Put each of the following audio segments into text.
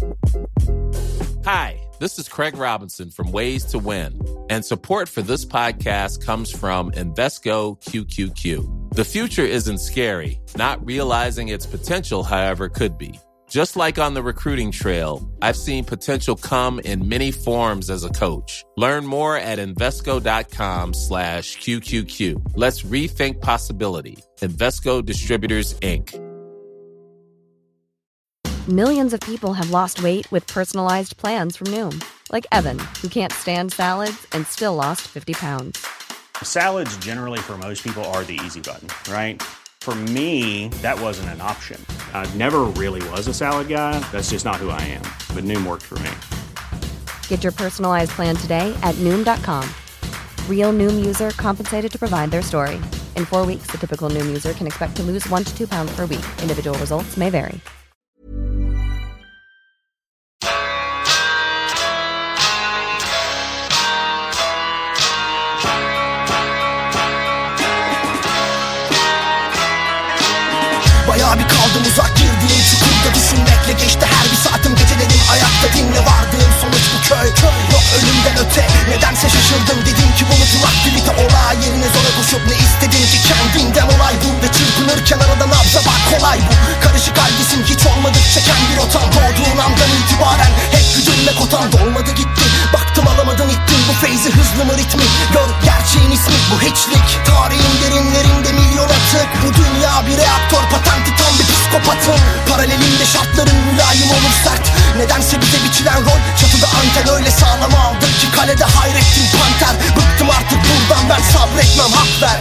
Hi, this is Craig Robinson from Ways to Win, and support for this podcast comes from Invesco QQQ. The future isn't scary. Not realizing its potential, however, could be. Just like on the recruiting trail, I've seen potential come in many forms as a coach. Learn more at Invesco.com/QQQ. Let's rethink possibility. Invesco Distributors, Inc. Millions of people have lost weight with personalized plans from Noom. Like Evan, who can't stand salads and still lost 50 pounds. Salads generally for most people are the easy button, right? For me, that wasn't an option. I never really was a salad guy. That's just not who I am. But Noom worked for me. Get your personalized plan today at Noom.com. Real Noom user compensated to provide their story. In 4 weeks, the typical Noom user can expect to lose 1 to 2 pounds per week. Individual results may vary. Bayağı bir kaldım uzak girdiğim çukurda düşünmekle geçti her bir saatim. Gecelerim ayakta dinle vardığım sonuç bu köy. Yok ölümden öte nedense şaşırdım. Dedim ki bu mutluluk aktivite olay yerine zora koşup ne istedim ki kendinden olay bu. Ve çırpınırken arada nabza bak kolay bu. Karışık haldesin hiç olmadıkça kendi rotan. Doğduğun andan itibaren hep güdülme kotan. Dolmadı gitti baktım alamadın ittin. Bu feyzi hızlı mı ritmi gör gerçeğin ismi bu hiçlik. Tarihin derinlerinde milyon atık. Bu dünya bir reaktör patenti tam bir psikopatın. Paralelinde şartların mülayim olur sert. Nedense bize biçilen rol çatıda anten öyle sağlam aldım ki kalede hayrettin panter. Bıktım artık buradan ben sabretmem hak ver.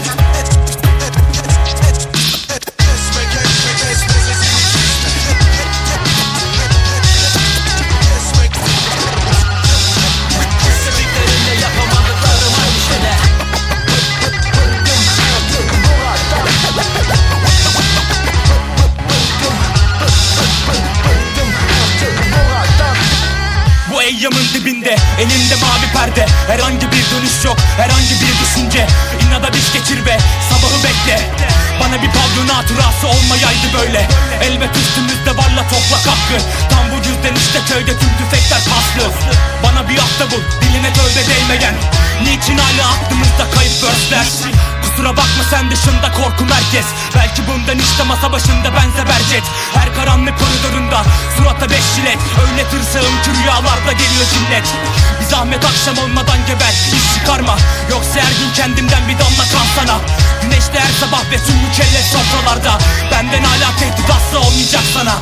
Bu eyyamın dibinde, elimde mavi perde. Herhangi bir dönüş yok, herhangi bir düşünce. İnada diş geçir ve sabahı bekle. Bana bir pavyon hatırası olmayaydı böyle. Elbet üstümüzde varla toplak hakkı. Tam bu yüzden işte köyde tüm tüfekler paslı. Bana bir hafta bul, diline tövbe değmeyen. Niçin hala aklımızda kayıp verseler? Kusura bakma sen dışında korkum herkes. Belki bundan işte masa başında benze bercet. Her karanlık koridorunda surata 5 jilet. Öyle tırsağım ki rüyalarda geliyor cinnet. Bir zahmet akşam olmadan geber, iş çıkarma. Yoksa her gün kendimden bir damla kan sana. Güneşte her sabah ve tüm mükellef sofralarda. Benden hala tehdit asla olmayacak sana.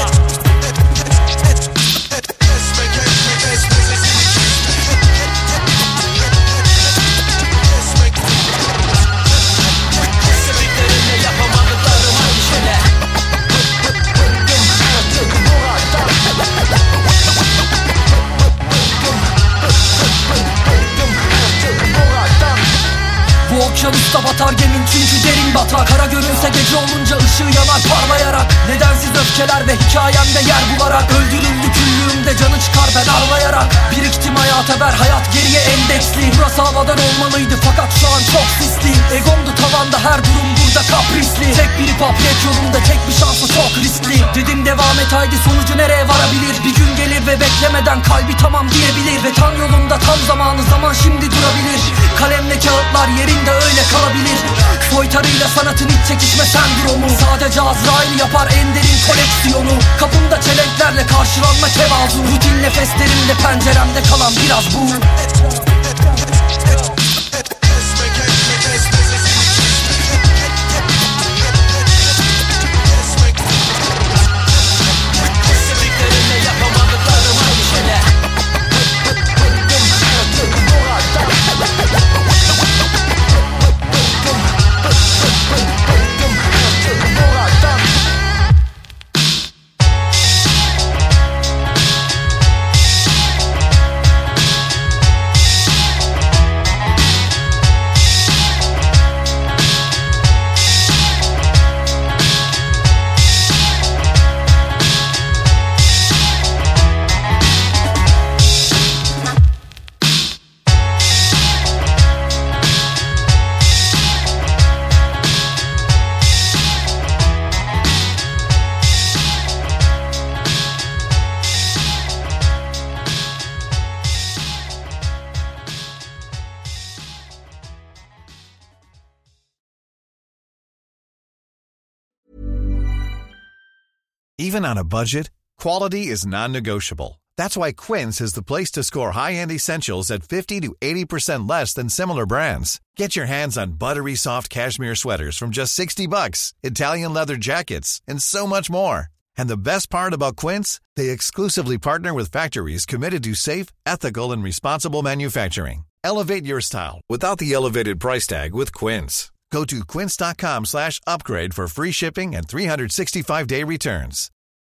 Bu okyanusta batar gemin çünkü derin batar. Kara görünse gece olunca ışığı yanar parlayarak. Nedensiz öfkeler ve hikayemde yer bularak. Öldürüldü küllüğümde canı çıkar ben ağlayarak. Biriktim hayata ver hayat geriye endeksli. Burası havadan olmalıydı fakat şu an çok sisli. Egomdu tavanda her durum burada kaprisli. Tek bir hip hop rap yolunda tek bir şansı çok riskli. Dedim devam et haydi sonucu nereye varabilir. Bir gün gelir ve beklemeden kalbi tamam diyebilir. Ve tam yolunda tam zamanı zaman şimdi durabilir. Kalemle kağıtlar yerinde öyle kalabilir. Soytarıyla sanatın hiç çekişme sendromu. Sadece Azrail yapar en derin koleksiyonu. Kapımda çelenklerle karşılanma tevazu. Rutin nefeslerimle penceremde kalan biraz bu. Even on a budget, quality is non-negotiable. That's why Quince is the place to score high-end essentials at 50 to 80% less than similar brands. Get your hands on buttery soft cashmere sweaters from just $60, Italian leather jackets, and so much more. And the best part about Quince, they exclusively partner with factories committed to safe, ethical, and responsible manufacturing. Elevate your style without the elevated price tag with Quince. Go to quince.com/upgrade for free shipping and 365-day returns.